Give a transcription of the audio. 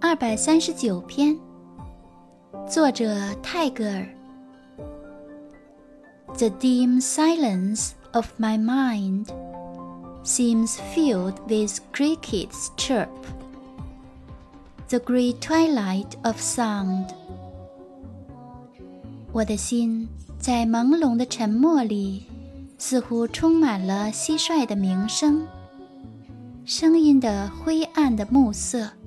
239篇，作者泰戈尔。The dim silence of my mind seems filled with crickets' chirp, the grey twilight of sound. 我的心在朦胧的沉默里，似乎充满了蟋蟀的鸣声，声音的灰暗的暮色。